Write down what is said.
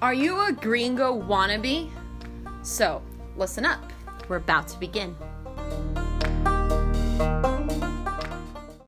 Are you a gringo wannabe? So, listen up. We're about to begin.